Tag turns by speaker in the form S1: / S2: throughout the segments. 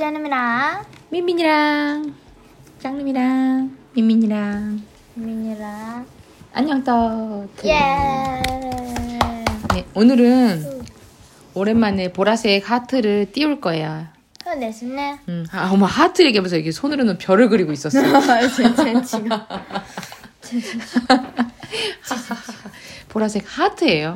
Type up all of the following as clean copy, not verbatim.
S1: 짠님이랑
S2: 민민이랑 짱님이랑 민민이랑 안녕 떡.
S1: 예.
S2: 네, 오늘은 오랜만에 보라색 하트를 띄울 거예요.
S1: そうですね。
S2: 어머 하트 얘기하면서 이게 손으로는 별을 그리고 있었어. 보라색 하트예요.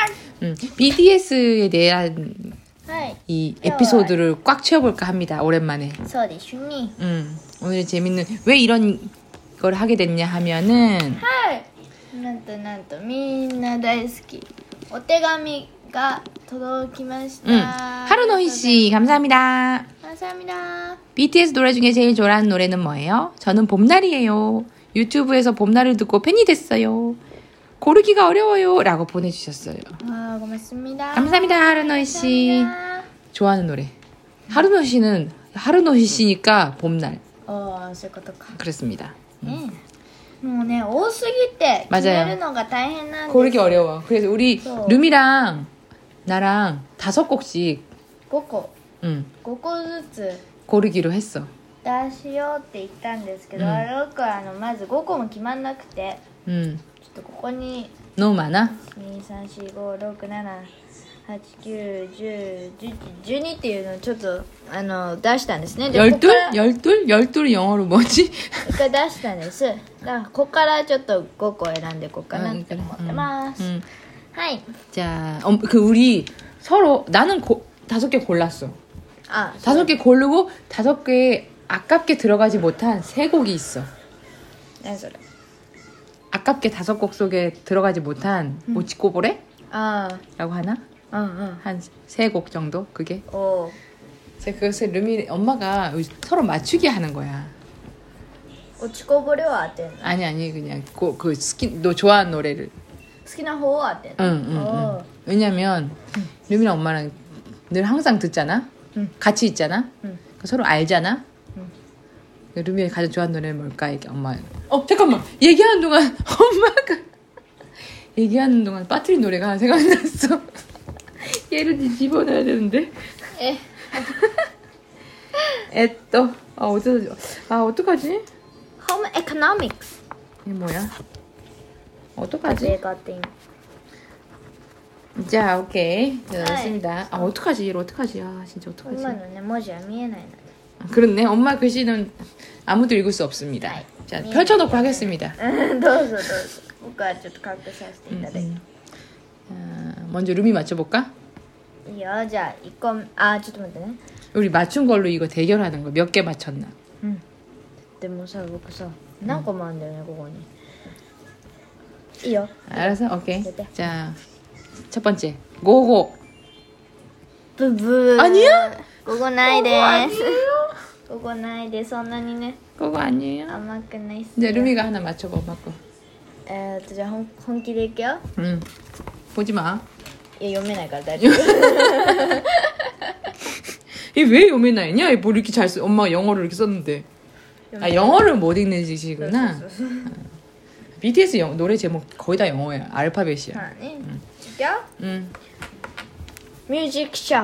S2: BTS에 대한
S1: はい。
S2: 이 에피소드를 꽉 채워볼까 합니다. 오랜만에.
S1: そうですね。
S2: 오늘 재밌는 왜 이런 걸 하게 됐냐 하면은
S1: はい。なんとみんな大好きお手紙が届きました。
S2: 하루노희 씨 감사합니다.
S1: 감사합니다.
S2: BTS 노래 중에 제일 좋아하는 노래는 뭐예요? 저는 봄날이에요. 유튜브에서 봄날을 듣고 팬이 됐어요. 고르기가 어려워요. 라고 보내주셨어요.
S1: 아, 고맙습니다.
S2: 감사합니다, 하루노희 씨.
S1: 감사합니다.
S2: 좋아하는 노래. 하루노희 씨는 하루노희 씨니까 봄날.
S1: そういうことか。
S2: 그렇습니다.
S1: もうね、多すぎて決
S2: 맞아요
S1: めるのが大変なんです。
S2: 고르기 어려워. 그래서 우리
S1: 또.
S2: 룸이랑 나랑 5곡씩
S1: 5個
S2: 5
S1: 個ずつ
S2: 고르기로 했어.
S1: 出しようって言ったんですけど、僕はまず5個も決まんなくて、
S2: 음.
S1: ちょっとここに
S2: 너무 많아?
S1: 2345678910112っていうのをちょっと出したんですね。で
S2: 열둘? 열둘? 열둘이 영어로 뭐지?
S1: 一回出したんです。だからここからちょっと5個選んでいこうかなって思ってます。 はい。
S2: 자, 우리 서로 나는 5개 골랐어.
S1: あ、
S2: 5개 고르고 5개에 아깝게 들어가지 못한 3곡이 있어.
S1: 何それ。
S2: 아깝게 5곡 속에 들어가지 못한 모치꼬보레?
S1: あ
S2: 라고 하나?
S1: あ、うん。
S2: 한 3곡 정도? 그게?
S1: おー。
S2: 그래서 그것을 룸이 엄마가 서로 맞추게 하는 거야.
S1: 落ちこぼれは当てんの。
S2: 아니 그냥 너 좋아하는 노래를.
S1: 好きな方は当てんの。
S2: 응. 왜냐면 룸이랑 엄마랑 늘 항상 듣잖아. 같이 있잖아. 서로 알잖아. 룸이 가장 좋아하는 노래는 뭘까? 이게 엄마. 잠깐만. 얘기하는 동안 엄마가 얘기하는 동안 빠뜨린 노래가 하나 생각났어. 얘를 집어넣어야 되는데. 또. 어떡하지?
S1: Home Economics.
S2: 이게 뭐야? 어떡하지?
S1: 내가 띵.
S2: 자, 오케이. 자, 됐습니다. 어떡하지? 얘를 어떡하지? 진짜 어떡하지?
S1: 今のね文字は見えないので。
S2: 그렇네. 엄마 글씨는 아무도 읽을 수 없습니다.
S1: 네.
S2: 자, 펼쳐놓고 하겠습니다.
S1: どうぞ。僕はちょっと隠させていただいて。
S2: 먼저 룸이 맞춰볼까?
S1: いいよ。じゃあ1個ちょっと待ってね。
S2: 우리 맞춘 걸로 이거 대결하는 거. 몇 개 맞췄나?
S1: でもさ僕さ何個もあるんだよねここに。いいよ。
S2: 알았어? 오케이.
S1: 네.
S2: 자, 첫 번째. 고고.
S1: ブブー。
S2: 아니야?
S1: ここないです。ここないでそんなにね
S2: 그거 아니에요?
S1: 甘くないっす
S2: 이제
S1: よ。
S2: 룸이가 하나 맞춰봐, 엄마 거.
S1: じゃあ本気でいくよ。
S2: 보지 마.
S1: いや読めないから大丈夫。
S2: 얘 왜 요메나이냐? 얘 뭐 이렇게 잘 써? 엄마가 영어를 이렇게 썼는데. 영어를 못 읽는 짓이구나. BTS 노래 제목 거의 다 영어야. 알파벳이야.
S1: まあね。違う？
S2: 응.
S1: 뮤직 숍.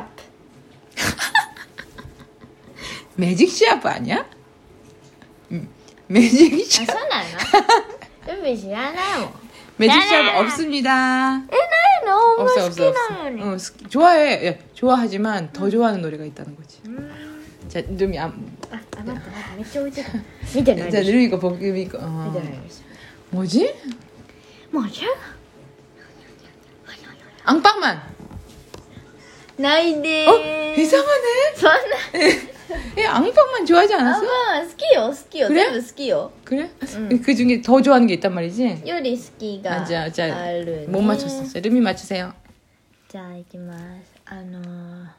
S2: 매직 시합 아니야? 매직
S1: あ、
S2: 시합.
S1: そうなの？ルビー知らないもん。
S2: 매직 시합 없습니다.
S1: ないの？
S2: 없어
S1: 好
S2: 없어
S1: き
S2: 없어.
S1: なのに。
S2: 좋아해. 야, 좋아하지만 더 좋아하는 노래가 있다는 거지. 자, 룸이
S1: あ、待ってめっちゃ置いてた。見てない
S2: 자,
S1: でしょ。
S2: 룸이 이거 보기 이거.
S1: 見てないでし
S2: 뭐지?
S1: ょ。もうじゃ
S2: 앙빵만.
S1: ないでーす。
S2: 이상하네.
S1: そんな。
S2: 얘 앙빵만 좋아하지
S1: あ、ま
S2: 않았어?
S1: あ好きよ好きよ。
S2: 그래?
S1: 全部好きよ。
S2: 그래? 그 중에 더 좋아하는 게 있단 말이지?
S1: より好きが
S2: 자,
S1: あ
S2: 자,
S1: るね。
S2: 못 맞췄어. 자, 룸이 맞추세요.
S1: じゃあ行きます。ちょっと待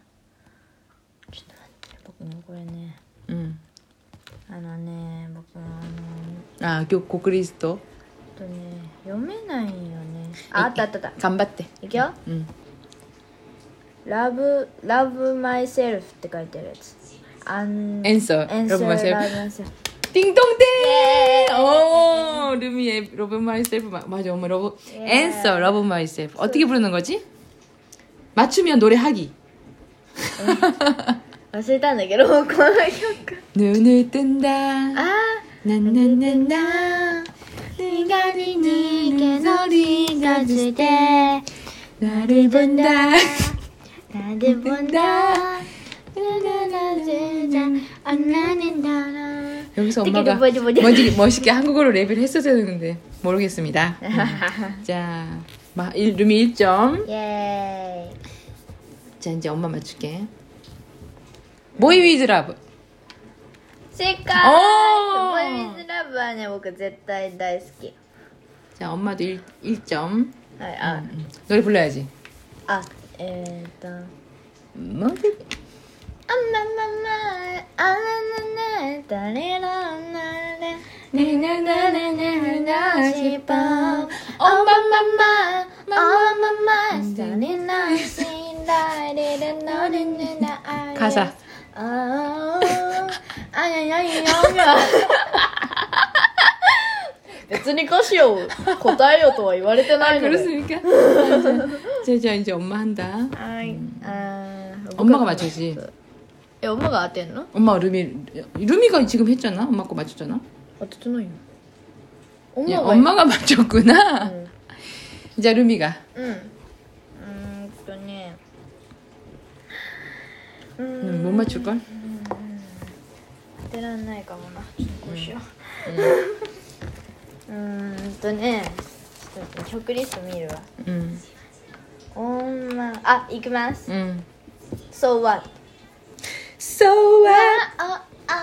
S1: って僕もこれね。 僕も
S2: 아, 고크리스토.
S1: 読めないよね。あった。
S2: 간바떼.
S1: いくよ。Love myself って書いてあるやつ。
S2: Answer. Love myself. 띵동댕! 룸이의 Love myself. 맞아, 엄마 러브. Answer, Love myself. 어떻게 부르는 거지? 맞추면 노래하기.
S1: 忘れたんだけどこの曲
S2: 눈을 뜬다
S1: あ
S2: 나나나나
S1: 네가 네게 소리가 질때
S2: 나를 본다
S1: 나를 본다
S2: 여기서 엄마가 멋있게 한국어로 랩을 했어야 되는데 모르겠습니다. 자, 루미 1점.
S1: 예.
S2: 자, 이제 엄마 맞출게. 보이 위즈 러브.
S1: 正解
S2: おー
S1: ボーイズラブはね僕絶対大好き
S2: 자, 엄마도 1점.
S1: はいあ、
S2: 노래 불러야지.
S1: あ
S2: 뭐
S1: あまままあらなな誰らなれねねねねねなしばおまままおまま誰なしられれのれねなあれ
S2: 가사.
S1: 아니別に歌詞を答えよとは言われてないので
S2: 그렇습니까? 자, 이제 엄마 한다.
S1: はい
S2: 엄마가 맞추지.
S1: 엄마가 当てんの
S2: 엄마가 루미가 지금 했잖아. 엄마 거 맞췄잖아.
S1: 当ててないよ
S2: 야, 엄마가 맞췄구나.
S1: 응.
S2: 자, 루미가.
S1: ね
S2: 못 맞출걸?
S1: 当てらんないかもなちょっとこうしようねちょっと曲リスト見るわいきます So what?
S2: So what?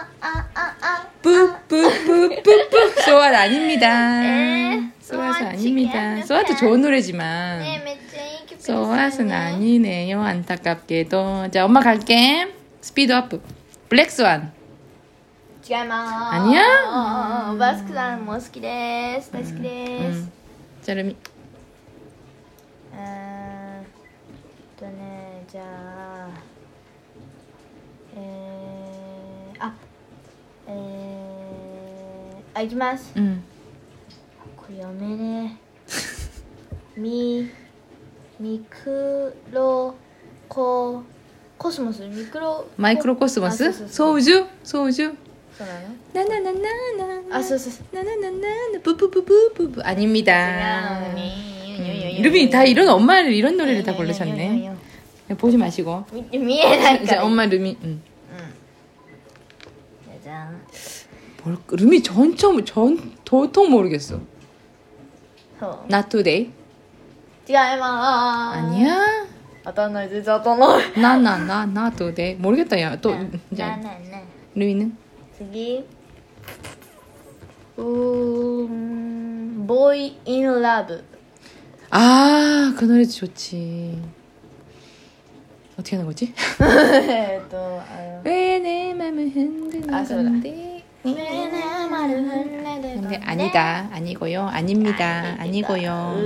S2: 뿌뿌뿌뿌뿌 So what 아닙니다. So what 아닙니다. So what 좋은 노래지만
S1: 네, めっちゃいい曲です
S2: So what은 아니네요. 안타깝게도. 자, 엄마 갈게. 스피드업. 블랙스완.
S1: 違います
S2: 아니야?
S1: バスクさんも好きです大好きです
S2: 자, 루미.
S1: じゃあいきます これ読めねミクロコスモス
S2: マイクロコスモスソウジュ
S1: そうなの
S2: ナナナナナ
S1: そう
S2: ナナナナププププププ아닙니다.
S1: 違うね
S2: 루비 다 이런 엄마를 이런 노래를 다 고르셨네. 보지 마시고.
S1: 見えないから
S2: 자, 엄마 루미.
S1: じゃん
S2: 루미 도통 모르겠어.
S1: そう
S2: Not today.
S1: 違います
S2: 아니야.
S1: 当たんない全然当たんない
S2: Not today. 모르겠다 야. 또
S1: じゃあ
S2: 자,
S1: ね
S2: 루미는
S1: 次Boy in Love
S2: 아, 그 노래 좋지. 어떻게 하는 거지?
S1: あ
S2: 왜 내 맘을 흔드는
S1: 아,
S2: 건데? 근데 아니다. 아니고요. 아닙니다. 아니고요.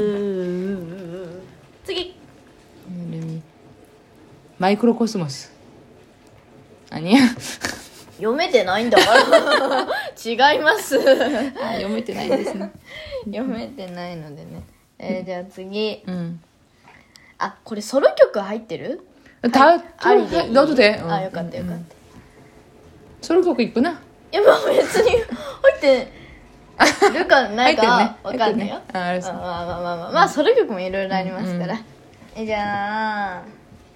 S1: 次
S2: 루미. 마이크로 코스모스. 아니야?
S1: 読めてないんだから違います
S2: 아, 読めてないですね。
S1: 読めてないのでね、じゃあ次
S2: うん。
S1: あこれソロ曲入ってる
S2: 다
S1: ありでいい
S2: 넣어도 돼.
S1: あよかったよかった、
S2: 소로曲 있구나.
S1: いやまあ別に入ってるかないかわかんないよ、
S2: あ、알았어.
S1: まあソロ曲もいろいろありますから、じゃあ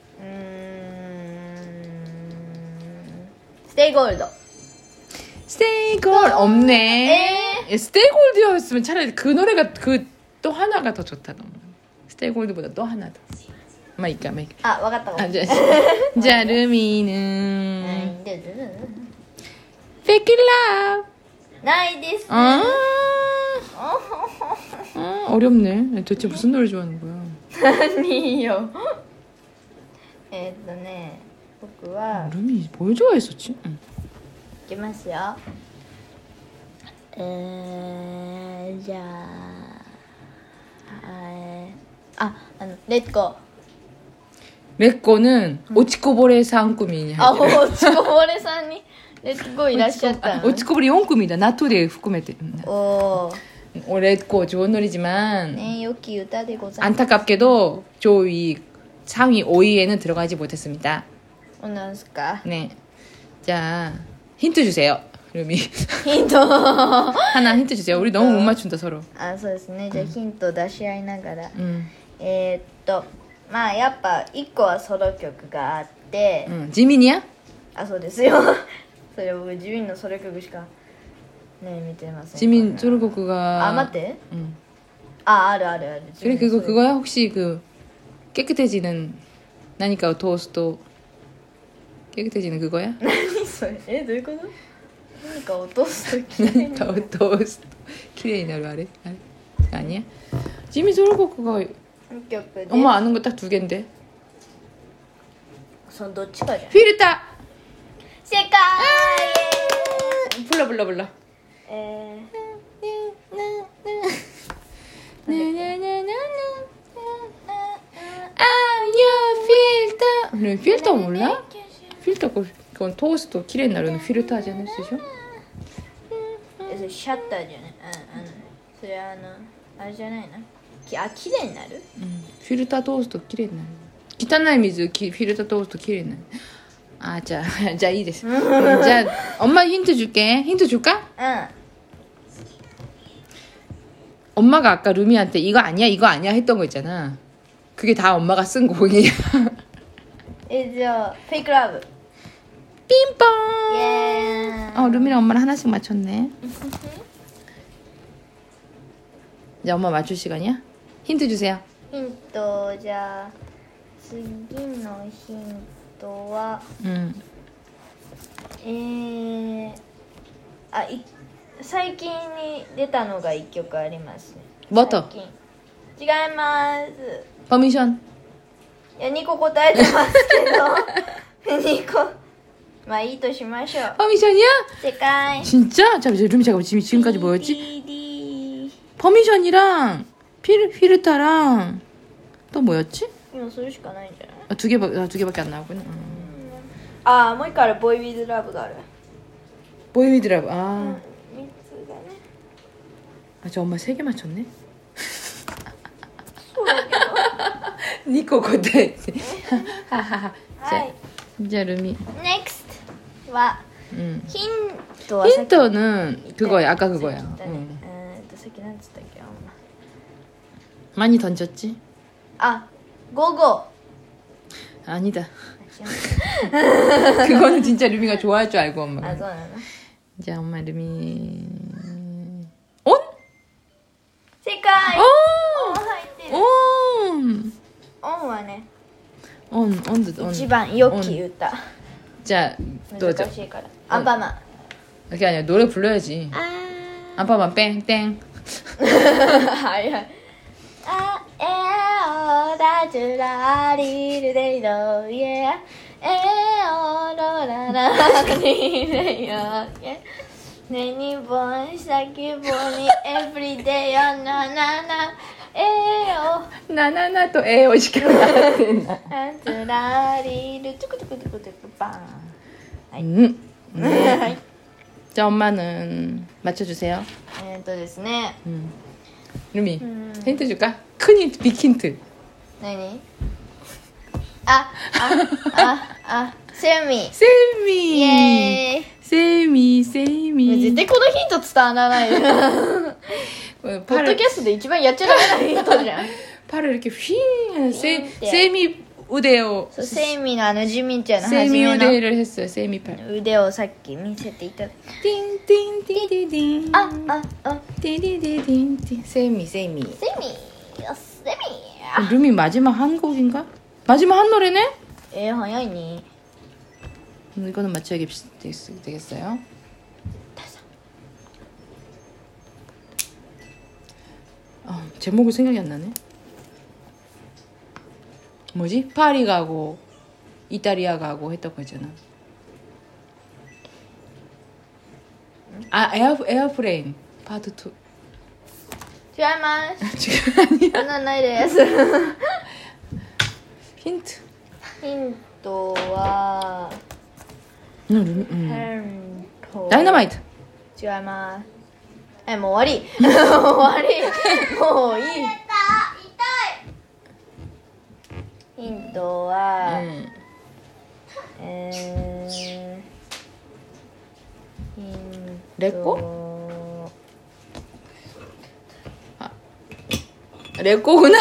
S1: ステイゴールド
S2: 스테이 골 없네. 스테이 골드였으면 차라리 그 노래가 그 또 하나가 더 좋다 너무. 스테이 골드보다 또 하나 더. 마이까.
S1: あわかったわ
S2: 아, 자, 루미는 フェイク ラブ
S1: ないですね
S2: 어렵네. 대체 무슨 노래 좋아하는 거야?
S1: 何よ僕は
S2: 루미 뭘 좋아했었지? 응.
S1: いきますよじゃあレッツゴー
S2: 레꼬는 오치코보레 사은꿈이냐?
S1: あ、おちこぼれさんにレッツゴーいらっしゃったの
S2: 오치코보레 4꿈이다. 나토데 후쿠메테.
S1: おー
S2: 레꼬 좋은 노래지만
S1: ね良き歌でございます
S2: 안타깝게도 조위 상위 5위에는 들어가지 못했습니다.
S1: なんすか
S2: 네. 자, 힌트 주세요. 루미.
S1: ヒント
S2: 하나 힌트 주세요. 우리 너무 못 맞춘다 서로.
S1: あ、そうですね。じゃあヒント出し合いながら、
S2: 음.
S1: まあやっぱ1個はソロ曲があって、
S2: 지민이야?
S1: あ、そうですよそれ僕自民のソロ曲しかね見てません。
S2: 지민 소르곡가.
S1: あ、待って。
S2: 응.
S1: あ、あるあるある。
S2: 그래 그거야? 혹시 그 깨끗해지는 나니까 토스트 깨끗해지는 그거야?
S1: 何それ？どういうこと？何か落とすときに
S2: 토스트 키레이나루 아래? 아니야? 지민 소르곡가
S1: 曲で
S2: 엄마 아는 거 딱 두 개인데.
S1: そのどっちかじゃん。
S2: 휘르타.
S1: 正解。
S2: 불러. 아유 필터 몰라? 필터 그건 토스트 키레이 나르는 필터 하지 않았으죠?
S1: それシャッターじゃないそれあれじゃないな綺麗になる
S2: 필터 토스트 키레이 나르 기타나이 미즈 필터 토스트 키레이 나르 아, 자, 이 됐어. 자, 엄마 힌트 줄게. 힌트 줄까?
S1: 응.
S2: 엄마가 아까 루미한테 이거 아니야 했던 거 있잖아. 그게 다 엄마가 쓴 곡이야.
S1: じゃあフェイクラブ
S2: 삥뽕.
S1: イエーイ
S2: 루미랑 엄마랑 하나씩 맞췄네. 이제 엄마 맞출 시간이야? 힌트 주세요.
S1: ヒントじゃあ次のヒントは最近に出たのが1曲ありますね。
S2: 뭐 또?
S1: 最近違います。
S2: 퍼미션.
S1: いや2個答えてますけど2個まあいいとしましょう。
S2: 퍼미션이야?
S1: 正解。
S2: 진짜? 자, 이제 루미 잠깐만 지금까지 뭐였지?
S1: DD
S2: 퍼미션이랑 피르타랑 또 뭐였지?
S1: 今それしかないんじゃない？
S2: 두 개밖에 안 나오구나.
S1: もう一個ある。ボーイ・ウィズ・ラブがある。
S2: 보이미드라고.
S1: 3
S2: 아,
S1: つがね。
S2: 저 엄마 3개 맞췄네.
S1: そうだけど。
S2: 니코 고대. 하하하.
S1: はい。
S2: 자, 루미.
S1: NEXT は ヒントは
S2: 힌트는 그거야. 아까 그거야.
S1: さっきなんつったっけ？
S2: 많이 던졌지?
S1: あ、午後。
S2: 아니다. 그거는 진짜 루미가 좋아할 줄 알고 엄마가.
S1: あ、そうなの？
S2: 자, 엄마 루미. 온?
S1: 正解。
S2: 오!
S1: オン入ってる。
S2: 온!
S1: オンはね、
S2: 온.
S1: 一番良き歌。
S2: 자, 또죠.
S1: 難しいから。アンパンマン。
S2: 그게 아니라 노래 불러야지. 안파만 뺑땡.
S1: はいはい。あ、おだちらりるでいろいえ。おろららりるよ。ねにぼん先ぼにエブリデイよななな。お。
S2: 나나나 또 에어 시켜놔야
S1: あつらりるトゥクトゥクトゥクトゥクパン。
S2: はい。
S1: はい。
S2: 자, 엄마는 맞춰주세요.
S1: ですね。
S2: 루미, 힌트 줄까? 큰 힌트, 빅 힌트.
S1: 何？セミ。
S2: 세미.
S1: イエーイ。
S2: 세미.
S1: 絶対このヒント伝わらないよ。ポッドキャストで一番やっちゃダメなヒントじゃん。
S2: 팔을 이렇게 휘 하는 세미 우대요.
S1: そうセミのジミンちゃんの初
S2: 세미
S1: めの
S2: 우대를 했어요. 세미 팔.
S1: 腕をさっき見せていただいて。
S2: 띵띵띵띵띵.
S1: あ、
S2: 띵띵띵띵. 세미.
S1: セミ。
S2: 루미 마지막 한 곡인가? 마지막 한 노래네?
S1: 早いね。
S2: 이거는 맞춰야 되겠어요. 제목이 생각이 안 나네. 뭐지? 파리 가고 이탈리아 가고 했던 거잖아. 에어플레인 파트 2.
S1: 違います。
S2: 지금 아니야.
S1: そんなんないです。
S2: 힌트.
S1: ヒントは、ヘント。
S2: 다이너마이트.
S1: 違います。もう終わり。終わり。もういい。ヒントは、
S2: レコ？레꼬구나.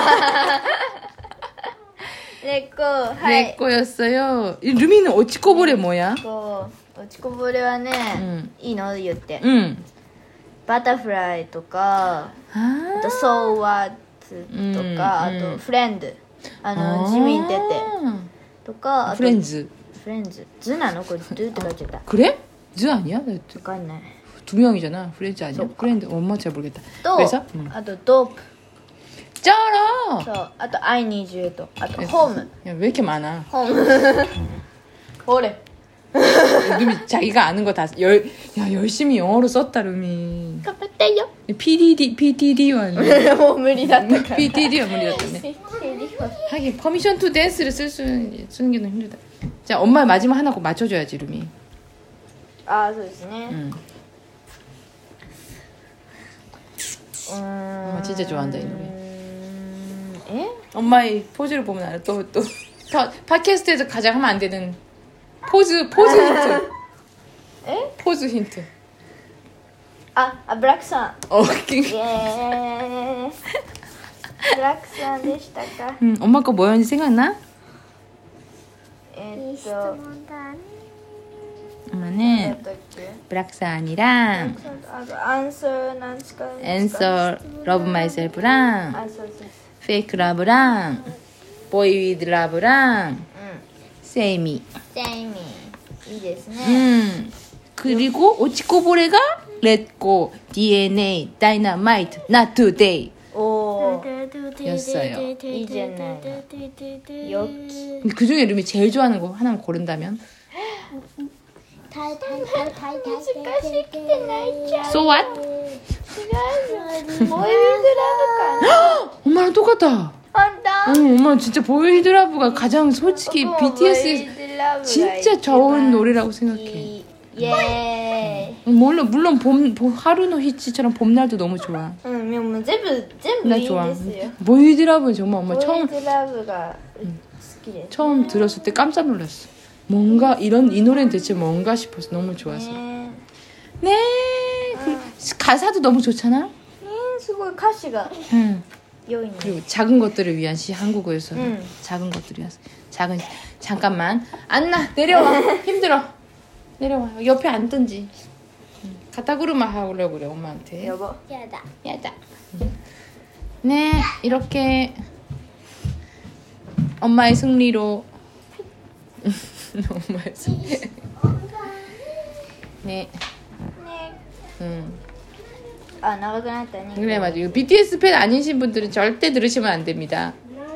S2: 레꼬였어요. 루미는 오치코보레 뭐야?
S1: 오치코보레はね、いいの言って。バタフライとか、あとソーワーツとか、あとフレンド、ジミンテテとか、
S2: フレンズ。
S1: ズなのこれドゥって書いちゃった。
S2: 그래? 즈 아니야?
S1: わかんない。
S2: 두 명이잖아. 프렌즈 아니야? 프렌드 엄마 잘 모르겠다.
S1: と、
S2: 그래서?
S1: あとドープ。
S2: 쩔어.
S1: そう、あとI need youと、あとホーム。
S2: 야, 왜 이렇게 많아?
S1: ホーム。ほれ。
S2: 루미 자기가 아는 거 다 열심히 영어로 썼다 루미.
S1: 頑張ってよ。
S2: PTD와
S1: もう無理だったから。
S2: PTD와 무리였다네. 하긴 퍼미션 투 댄스를 쓰는 게 너무 힘들다. 자, 엄마 마지막 하나 꼭 맞춰줘야지 루미.
S1: ああ、そうですね。
S2: 엄마 진짜 좋아한다 이 노래.
S1: え?
S2: 엄마의 포즈를 보면 알아. 또 팟캐스트에서 가장 하면 안 되는 포즈 힌트.
S1: え?
S2: 포즈 힌트.
S1: ブラックさん。
S2: 어,
S1: イエーイ。ブラックさんでしたか。
S2: 엄마 거 뭐였는지 생각나? 엄마는 브락산이랑 앤서 러브 마이셀프랑 페이크 러브랑 보이 위드 러브랑 세이미.
S1: いいですね。
S2: 그리고 오치코보레가 렛고 DNA 다이너마이트 not today.
S1: 오.
S2: 였어요.
S1: 이제는 여기.
S2: 그 중에 루미 제일 좋아하는 거 하나만 고른다면? So what? 엄마랑 똑같다. 엄마 진짜 보이드라브가 가장 솔직히 BTS의 진짜 좋은 노래라고 생각해.
S1: 예.
S2: 물론 하루노 히치처럼 봄날도 너무 좋아.
S1: 응,
S2: 나 좋아. 보이드라브는 정말 엄마 처음 들었을 때 깜짝 놀랐어. 뭔가 이 노래는 대체 뭔가 싶어서 너무 좋아서. 네. 가사도 너무 좋잖아.
S1: すごい歌詞が 良いね.
S2: 그리고 작은 것들을 위한 시 한국어에서 작은 것들을 위한 잠깐만 안나 내려와. 힘들어. 내려와. 옆에 앉든지. 가타구르마 하려고 그래 엄마한테.
S1: 여보.
S2: 야다. 네 이렇게 엄마의 승리로 엄마의 승리. 네.
S1: 아, 長くなったね.
S2: 그래 맞아. 이거 BTS 팬 아니신 분들은 절대 들으시면 안 됩니다.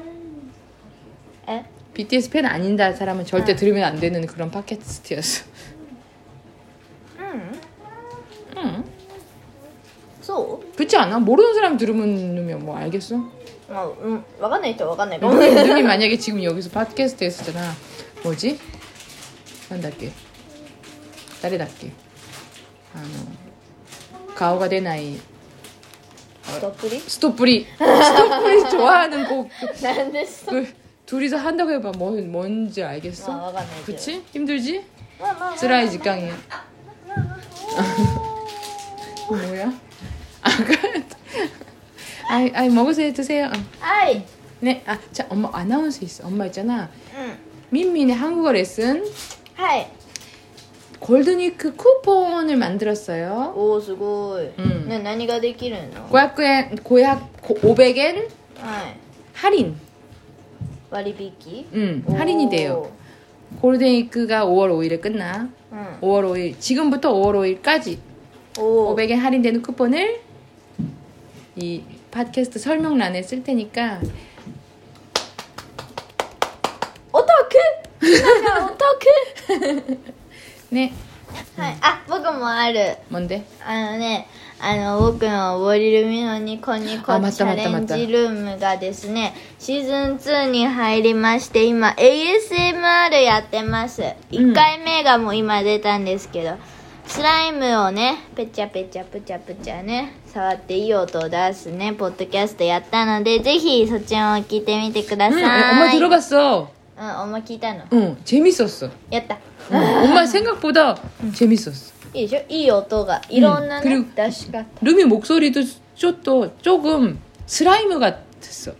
S1: 에?
S2: BTS 팬 아닌다 사람은 절대 들으면 안 되는 그런 팟캐스트였어.
S1: 소?
S2: 그렇지 않아? 모르는 사람 들으면 뭐 알겠어?
S1: わかんない人はわかんないかも.
S2: 누님 만약에 지금 여기서 팟캐스트 했었잖아. 뭐지? 난달게.誰だっけ? 가오가 되나이. 스토프리 좋아하는 곡. 둘이서 한다고 해봐. 뭔지 알겠어? 그치? 힘들지? 쓰라이 직강이야. 뭐야? 아이 먹으세요. 드세요.
S1: 아이.
S2: 네. 자 엄마 아나운서 있어. 엄마 있잖아. 민민의 한국어 레슨.
S1: 하이.
S2: 골든위크 쿠폰을 만들었어요.
S1: 오, すごい. 네, 何ができるの?
S2: 500엔 할인.
S1: 割引?
S2: 할인이 돼요. 골든위크가 5월 5일에 끝나. 5월 5일 지금부터 5월 5일까지 500엔 할인되는 쿠폰을 이 팟캐스트 설명란에 쓸 테니까.
S1: 오타쿠! 오타쿠!
S2: 네.
S1: はい。僕もある。
S2: 뭔데?
S1: 僕のボリルミのニコニコチャレンジルームがですね、シーズン2に入りまして、今 ASMR やってます。1回目がもう今出たんですけど、スライムをね、ペチャペチャプチャプチャね、触っていい音を出すね、ポッドキャストやったので、ぜひそっちも聞いてみてください。
S2: 엄마 들어봤어.
S1: 엄마聞いたの
S2: 응, 재밌었어.
S1: やった
S2: 엄마 생각보다 재밌었어.
S1: いいでしょいい音がいろんなね
S2: 그리고
S1: 出し方
S2: 루미 목소리도 조금 슬라이무 같았어.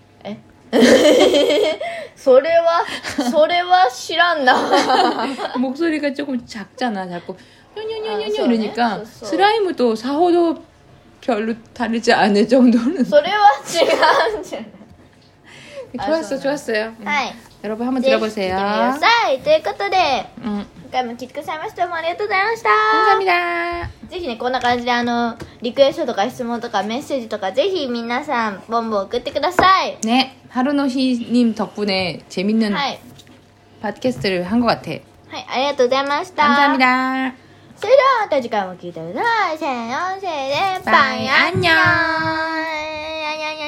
S1: それは知らんな
S2: 목소리가 조금 작잖아. 자꾸 뇨뇨뇨뇨
S1: 아,
S2: 이러니까
S1: 쏘네. 쏘.
S2: 슬라이무도 사호도 별로 다르지 않을 정도는.
S1: それは違うんじゃない
S2: 좋았어,
S1: 아,
S2: 좋았어요.
S1: はい
S2: 여러분 한번
S1: ぜひ聞いてみてく
S2: 들어보세요.
S1: ださいということで
S2: 응,
S1: 今回も聞いてくださいましてどうもありがとうございました
S2: 감사합니다.
S1: ぜひねこんな感じでリクエストとか質問とかメッセージとかぜひ皆さんボンボン送ってください
S2: 네, 하루노히님 덕분에 재밌는
S1: はい
S2: 팟캐스트를 한 것 같아.
S1: はいありがとうございました
S2: 감사합니다.
S1: それではまた次回も聞いてくださいせーのせーでバイ
S2: バイ
S1: アンニョ
S2: アンニョ
S1: ン